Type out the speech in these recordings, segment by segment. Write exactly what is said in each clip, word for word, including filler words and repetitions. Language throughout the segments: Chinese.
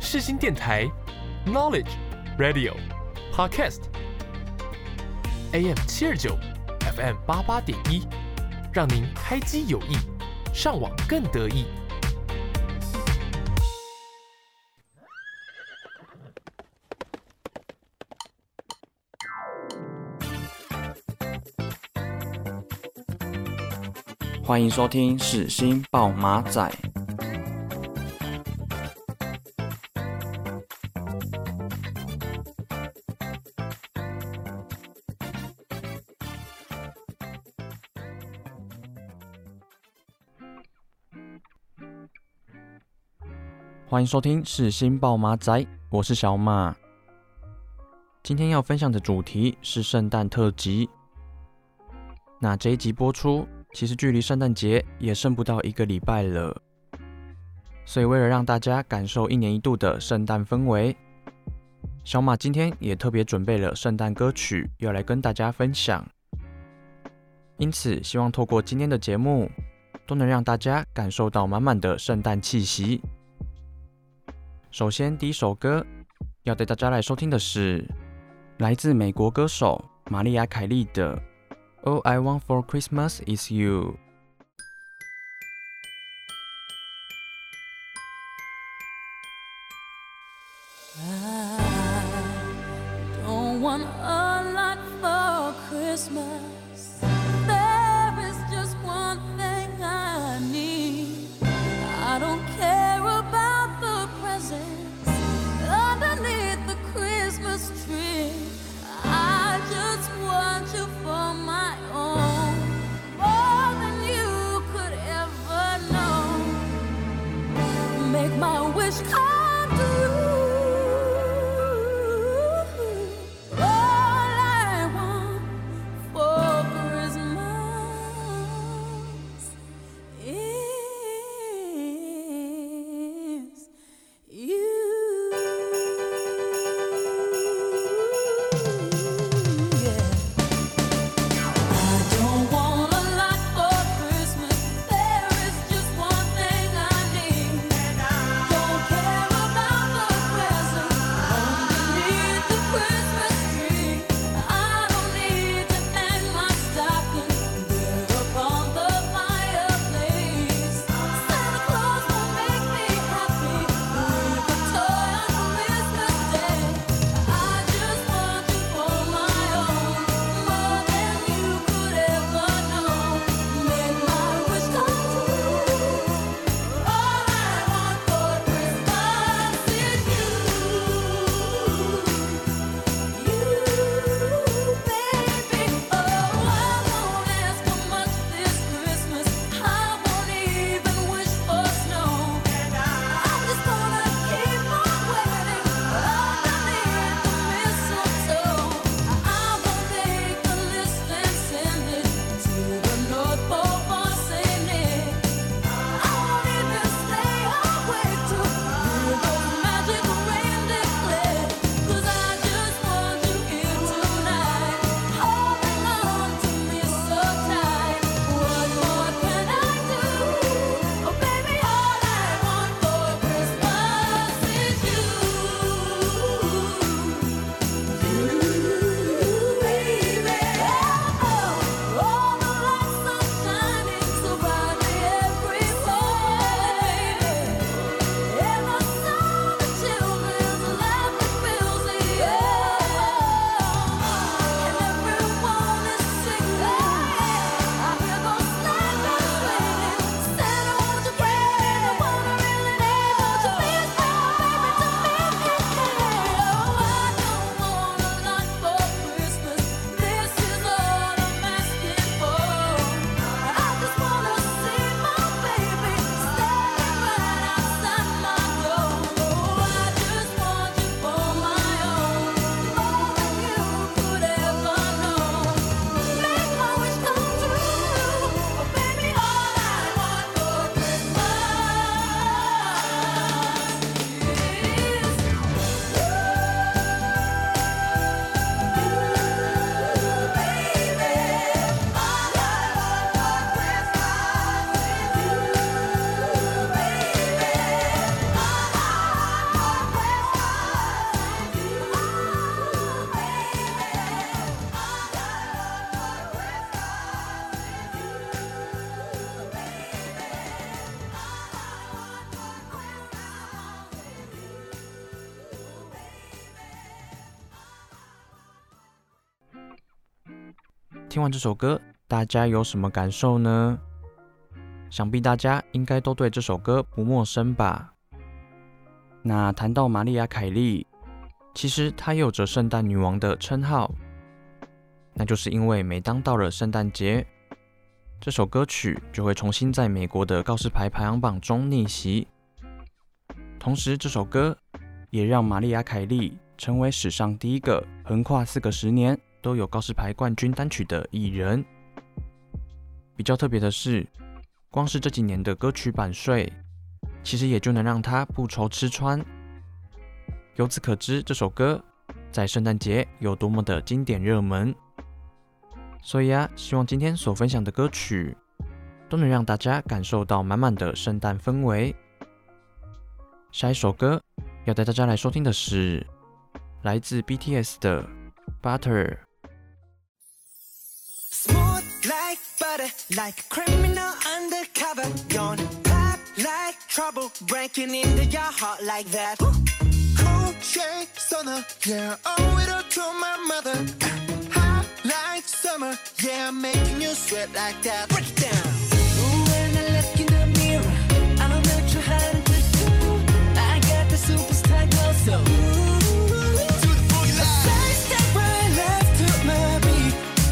世新電台 Knowledge Radio Podcast，A M 七二九 F M 八八點一，讓您開機有益，上網更得意。 歡迎收聽世新報馬仔。歡迎收聽世新報馬仔，我是小馬。今天要分享的主題是聖誕特輯。那這一集播出，其實距離聖誕節也剩不到一個禮拜了，所以為了讓大家感受一年一度的聖誕氛圍，小馬今天也特別準備了聖誕歌曲要來跟大家分享。因此，希望透過今天的節目，都能讓大家感受到滿滿的聖誕氣息。首先，第一首歌要帶大家來收聽的是來自美國歌手瑪麗亞·凱莉的All I Want for Christmas is You。 I don't want a lot for Christmas. There is just one thing I need. I don't care about the presents underneath the Christmas tree. I just want you for my own, more than you could ever know. Make my wish come true. All I want for Christmas is you. Don't care about the 聽完這首歌，大家有什麼感受呢？想必大家應該都對這首歌不陌生吧？那談到瑪麗亞·凱莉，其實她有着聖誕女王的稱號，那就是因為每當到了聖誕節，這首歌曲就會重新在美國的告示牌排行榜中逆襲。同時，這首歌也讓瑪麗亞·凱莉成為史上第一個橫跨四個十年都有告示牌冠軍單曲的藝人。比較特別的是，光是這幾年的歌曲版稅，其實也就能讓她不愁吃穿。由此可知，這首歌在聖誕節有多麼的經典熱門。所以啊，希望今天所分享的歌曲都能讓大家感受到滿滿的聖誕氛圍。下一首歌要帶大家來收聽的是來自 B T S 的 Butter。Smooth like butter, like a criminal undercover. Gonna pop like trouble, breaking into your heart like that. Cool shade stunner, yeah, owe it all to my mother. Hot like summer, yeah, I'm making you sweat like that. Break it down. When I look in the mirror, I don't know too hard to do. I got the superstar glow, so ooh, to the boogie line. Side step right left to my beat.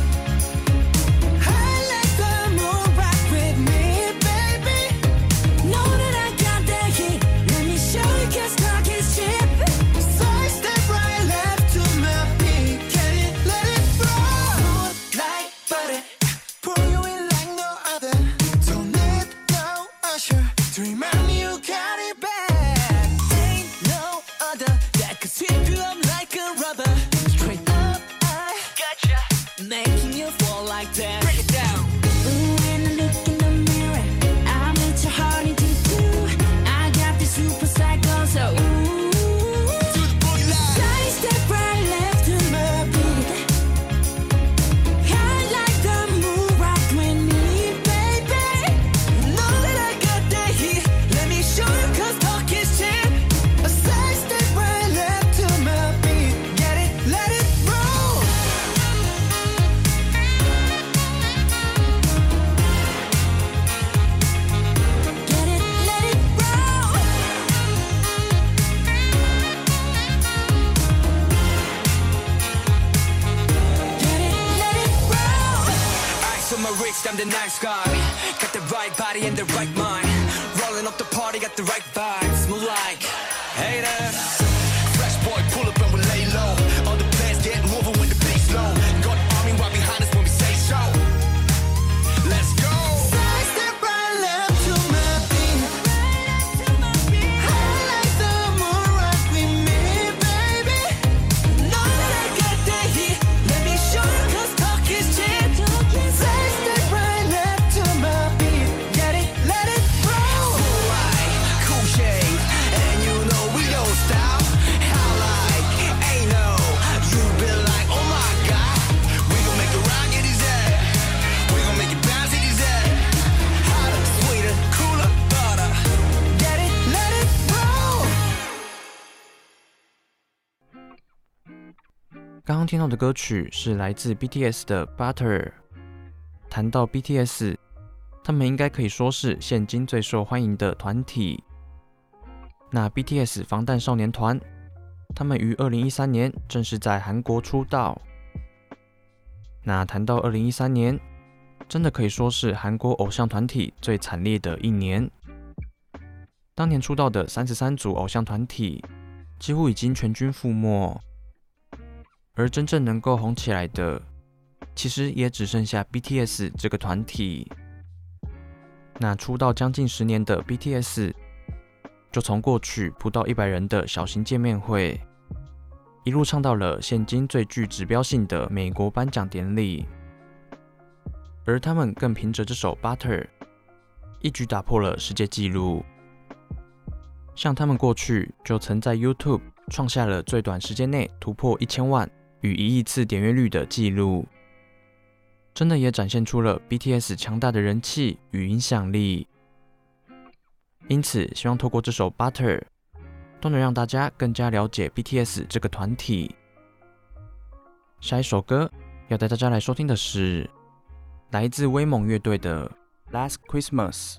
I like the moon rock with me, baby. Know that I got that heat. Let me show you 'cause talk is cheap. Side step right left to my beat. Can you let it roll? Smooth like butter, pour you in like no other. Don't need no usher to remind me you got it back. Ain't no other that could sweep you up like a rubber. Straight up, I gotcha, making you fall like that. Break it down. When I look in the mirror, I'm at your heart into two. I got the super cycle, so ooh, to the boogie line. Side step right left to my beat. I like the moon rock with me, baby. Know that I got that heat. Let me show you 'cause talk is cheap. A side step right left to my beat. Get it, let it roll. Get it, let it roll. Get it, let it roll. Ice on my wrist, I'm the nice guy. Got the right body and the right mind. Rolling up the party, got the right vibes. Move like haters. Fresh boy, pull up and we lay low. All the players get moving when the beat's low. Got the army right behind us when we say so. Let's go. Side step right left to my beat. I like the moon rock with me, baby. Know that I got that heat. Let me show you 'cause talk is cheap. Side step right left to my beat. Get it, let it roll. Right, cool shade, and you know we don't stop. How like, ain't no, you been like, oh my god. We gon' make it rock in his head. We gon' make it bounce in his head. Hotter, sweeter, cooler, butter. Get it, let it roll. 剛剛聽到的歌曲是來自 B T S 的 Butter。談到 B T S， 他們應該可以說是現今最受歡迎的團體。那 B T S 防彈少年團，他們於二零一三年正式在韓國出道。那談到二零一三年，真的可以說是韓國偶像團體最慘烈的一年。當年出道的三十三組偶像團體，幾乎已經全軍覆沒。而真正能夠紅起來的，其實也只剩下 B T S 這個團體。那出道將近十年的 B T S， 就從過去不到一百人的小型見面會，一路唱到了現今最具指標性的美國頒獎典禮。而他們更憑着這首 Butter， 一舉打破了世界紀錄。像他們過去就曾在 YouTube 創下了最短時間內突破一千萬與一億次點閱率的紀錄，真的也展現出了 B T S 強大的人氣與影響力。因此，希望透過這首 Butter， 都能讓大家更加了解 B T S 這個團體。下一首歌要帶大家來收聽的是來自威猛樂隊的《Last Christmas》。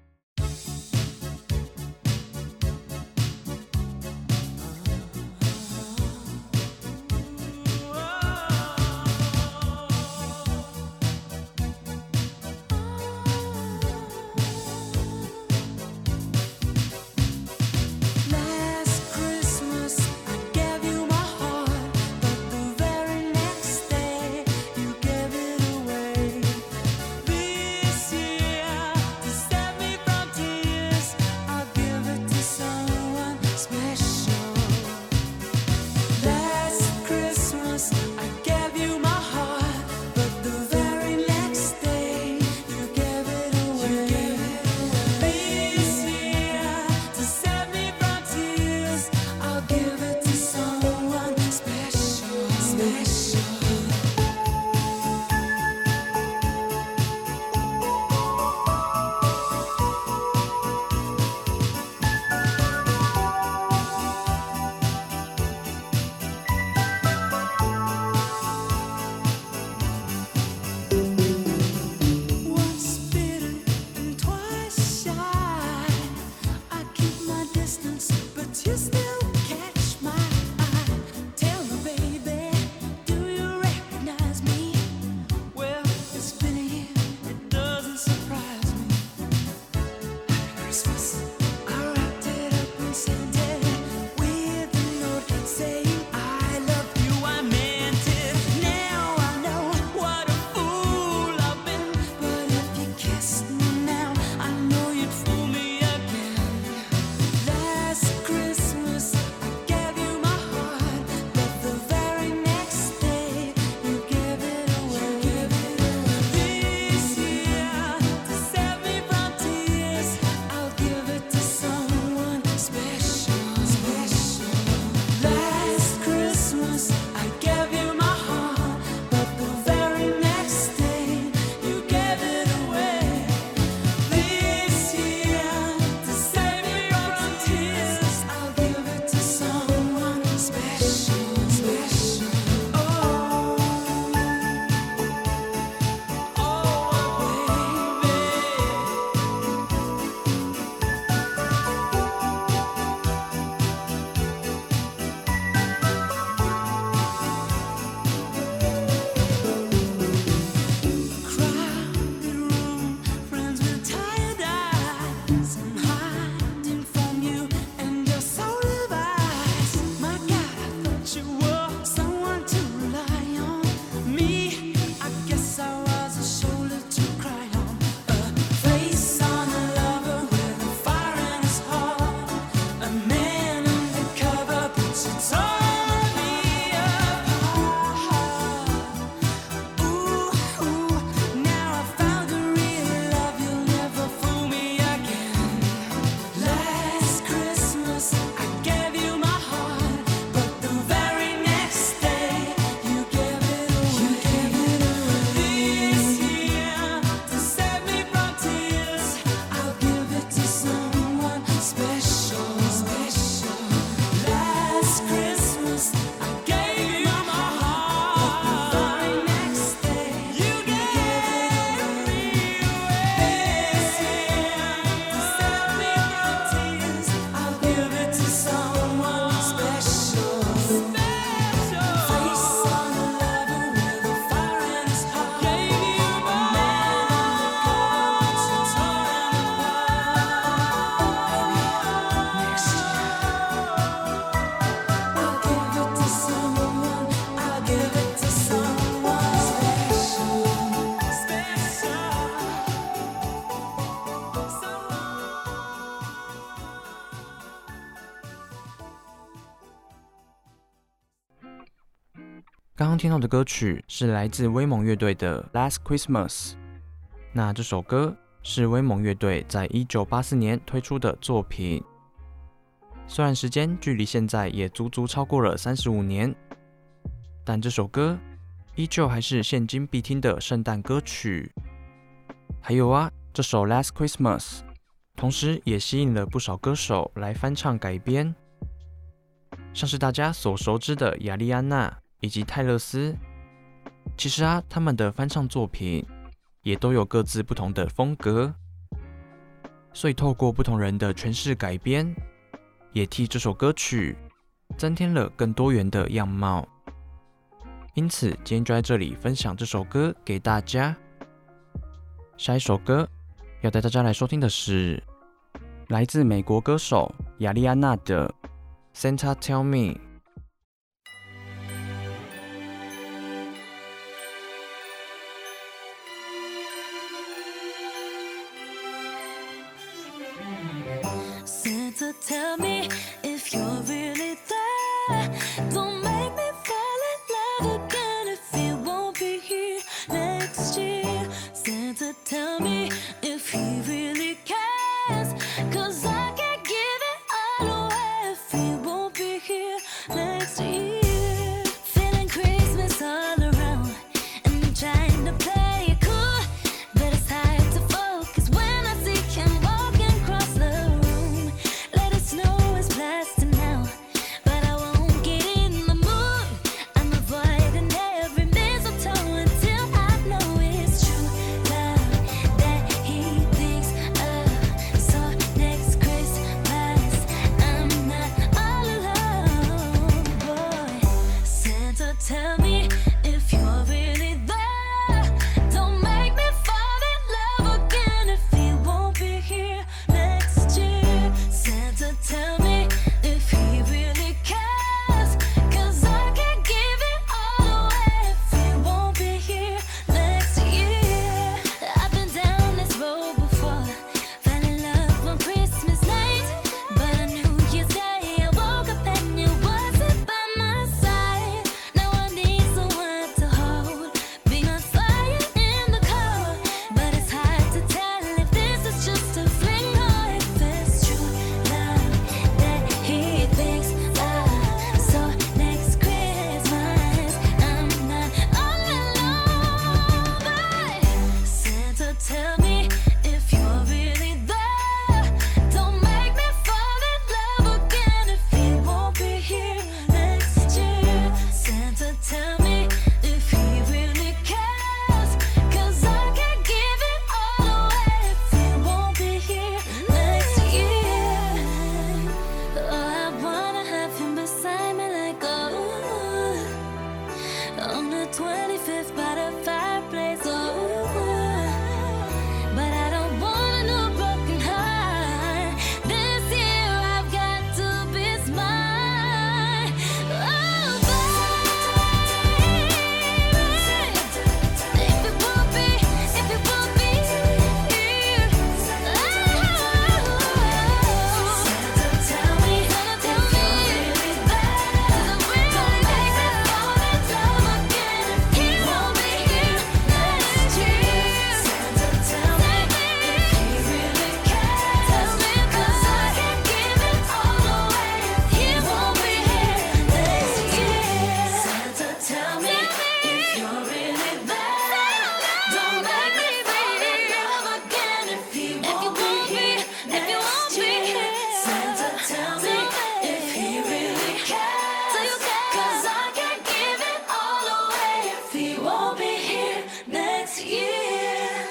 刚剛聽到的歌曲是來自威猛樂隊的《Last Christmas》。那這首歌是威猛樂隊在一九八四年推出的作品。雖然時間距離現在也足足超過了三十五年，但這首歌依舊還是現今必聽的聖誕歌曲。還有啊，這首《Last Christmas》同時也吸引了不少歌手來翻唱改編，像是大家所熟知的亞莉安娜以及泰勒斯。 其實啊，他們的翻唱作品也都有各自不同的風格，所以透過不同人的詮釋改編，也替這首歌曲增添了更多元的樣貌。因此，今天就在這裡分享這首歌給大家。下一首歌要帶大家來收聽的是來自美國歌手亞莉安娜的 Santa Tell Me。 Santa, tell me if you're really there. Don't make me fall in love again if you won't be here next year. Santa, tell me if he really cares. 'Cause I can't give it all away if he won't be here next year. Feeling Christmas all around and I'm trying to play it cool, but it's hard to focus when I see him walking across the room. Let it snow is blasting now, but I won't get in the mood. I'm avoiding every mistletoe until I know it's true love that he thinks of. So next Christmas I'm not all alone, boy. Santa, tell me if you're really there. Don't make me fall in love again if he won't be here next year. Santa, tell me if he really cares. 'Cause I can't give it all away if he won't be here next year. I've been down this road before, fell in love on Christmas night, but on New Year's Day I woke up and you wasn't by my side. Now I need someone to hold, being on fire in the cold, but it's hard to tell if this is just a fling or if it's true love that he thinks of. So next Christmas I'm not all alone, but Santa, tell me if you're really there. Don't make me fall in love again if he won't be here next year. Santa, tell me if he really cares. 'Cause I can't give it all away if he won't be here next year. Oh, I wanna have him beside me like oh, on the twenty-fifth by the fireplace. Oh, but I don't want a new broken heart. This year I've got to be smart. Oh, baby, if it won't be, if it won't be here, oh, Santa, tell me, tell me if you're really there. 'Cause I really make me fall in love again if he won't be here next year. Santa, tell me if he really cares. Tell me 'cause I can't give it all away if he won't be here next year. Santa, tell me if you're really there. Don't make me fall in love again if he won't be here next year. Santa, tell me if he really cares. 'Cause I can't give it all away if he won't be here next year.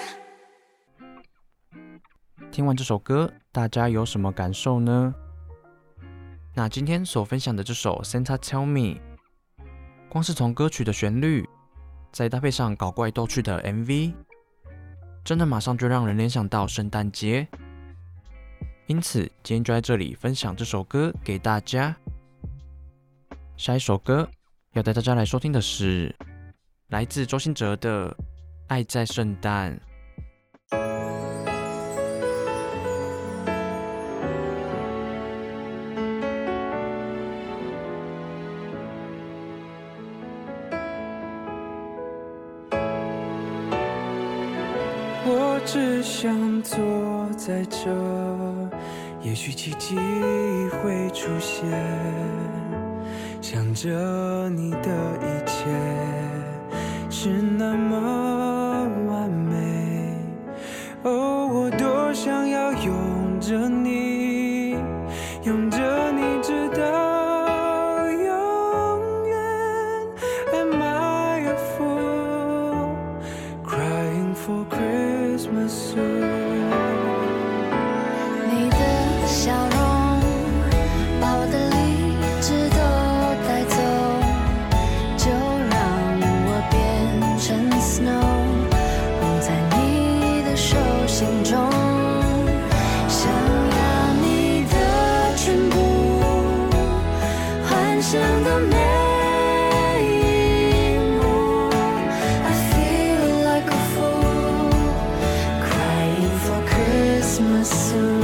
听完這首歌，大家有什麼感受呢？那今天所分享的這首 Santa Tell Me， 光是從歌曲的旋律，再搭配上搞怪逗趣的 M V， 真的馬上就讓人聯想到聖誕節。因此，今天就在這裡分享這首歌給大家。下一首歌要帶大家來收聽的是來自周興哲的《愛在聖誕》。 我只想坐在这，也許奇蹟會出現，想着你的一切是那麼完美。哦，我多想要擁着你，擁着你直到永遠。Am I a fool 象的每一幕。I feel like a fool, crying for Christmas soon.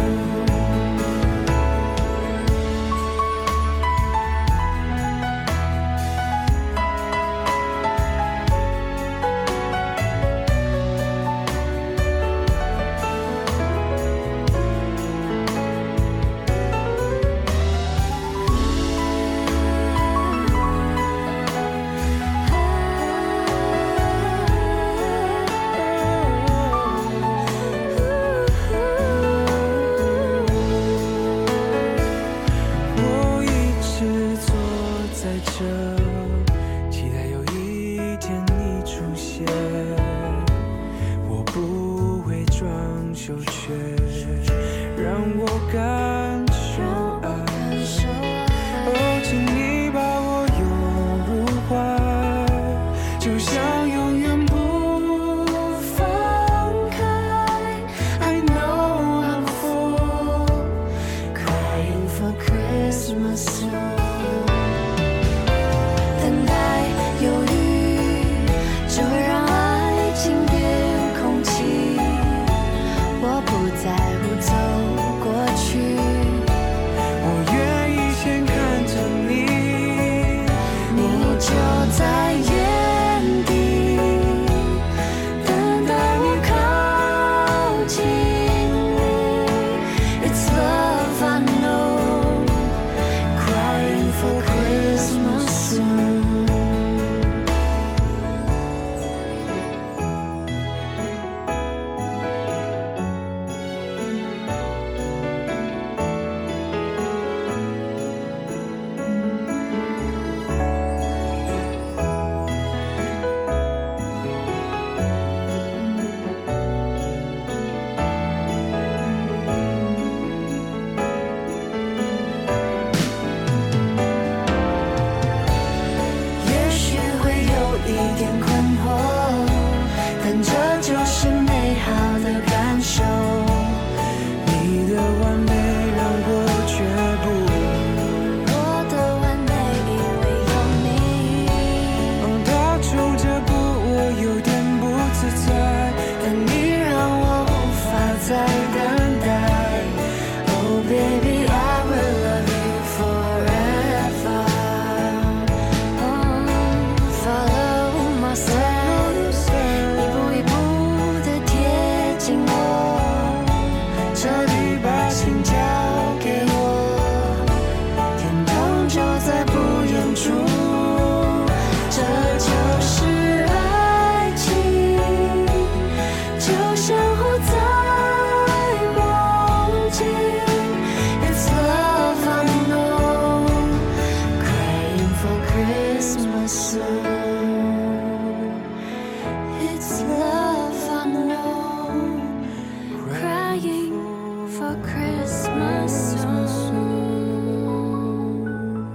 Christmas soon.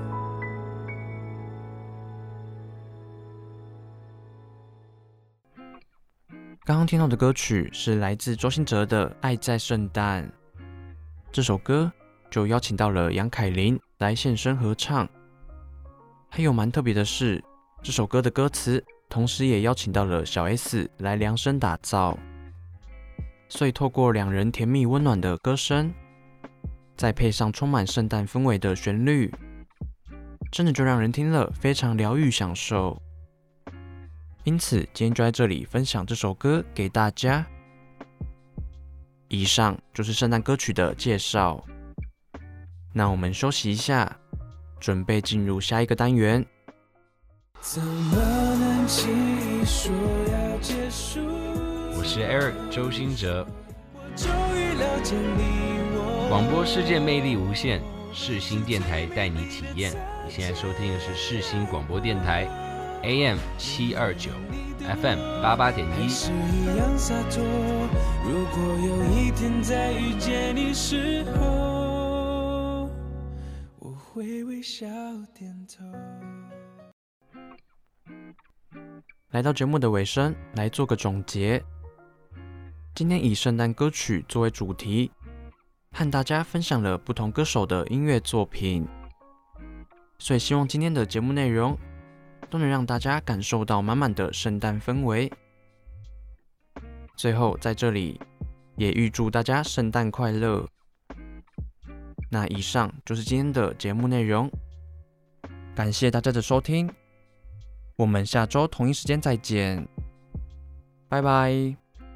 剛剛聽到的歌曲是來自周興哲的《愛在聖誕》。這首歌就邀請到了楊凱琳來現身合唱。還有蠻特別的是，這首歌的歌詞同時也邀請到了小 S 來量身打造。所以透過兩人甜蜜溫暖的歌聲，再配上充滿聖誕氛圍的旋律，真的就讓人聽了非常療癒享受。因此今天就在這裡分享這首歌給大家。以上就是聖誕歌曲的介紹。那我們休息一下，準備進入下一個單元。 怎麼能輕易說要結束？ 我是 Eric 周興哲。 終於了解你我。 廣播世界魅力無限，世新電台帶你體驗。你現在收聽的是世新廣播電台 A M 七二九 F M 八八點一。 是一樣灑脫。如果有一天再遇見你時候，我會微笑點頭。 來到節目的尾聲，來做個總結。今天以聖誕歌曲作為主題，和大家分享了不同歌手的音樂作品。 所以希望今天的節目內容都能讓大家感受到滿滿的聖誕氛圍。最後在這裡也預祝大家聖誕快樂。那以上就是今天的節目內容，感謝大家的收聽，我們下周同一時間再見，拜拜。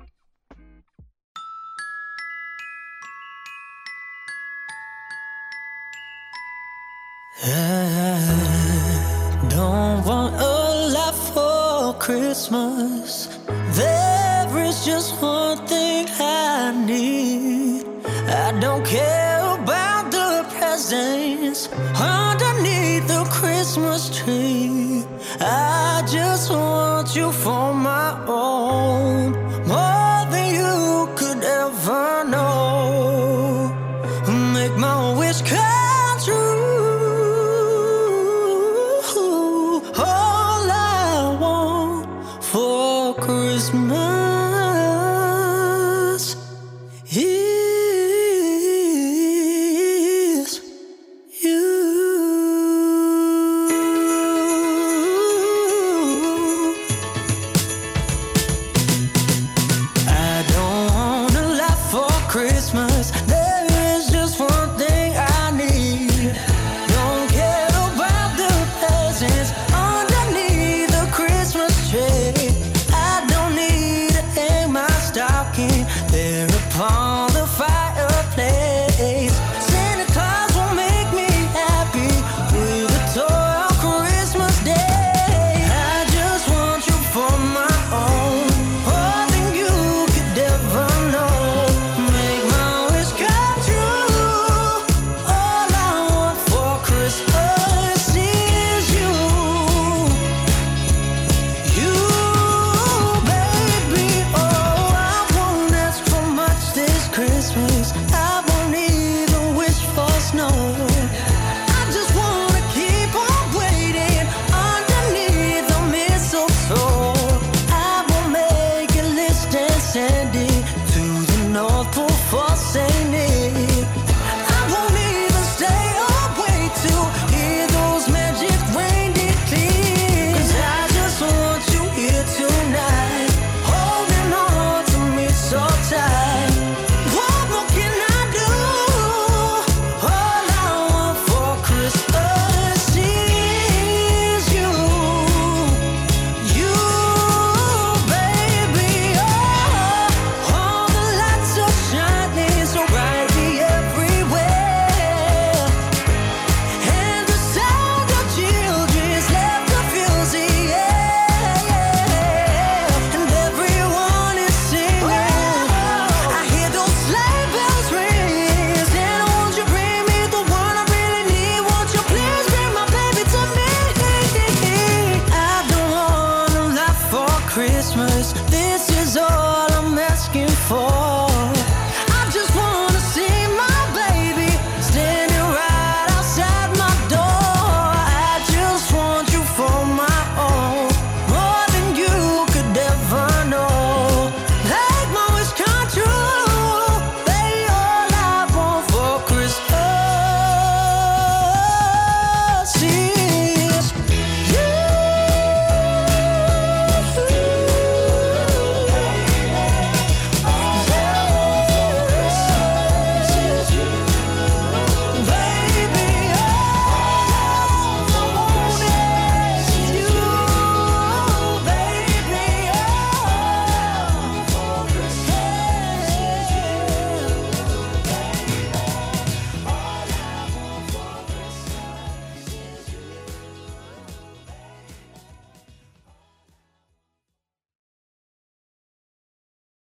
I don't want a lot for Christmas. There is just one thing I need. I don't care about the presents underneath the Christmas tree. I just want you for my own.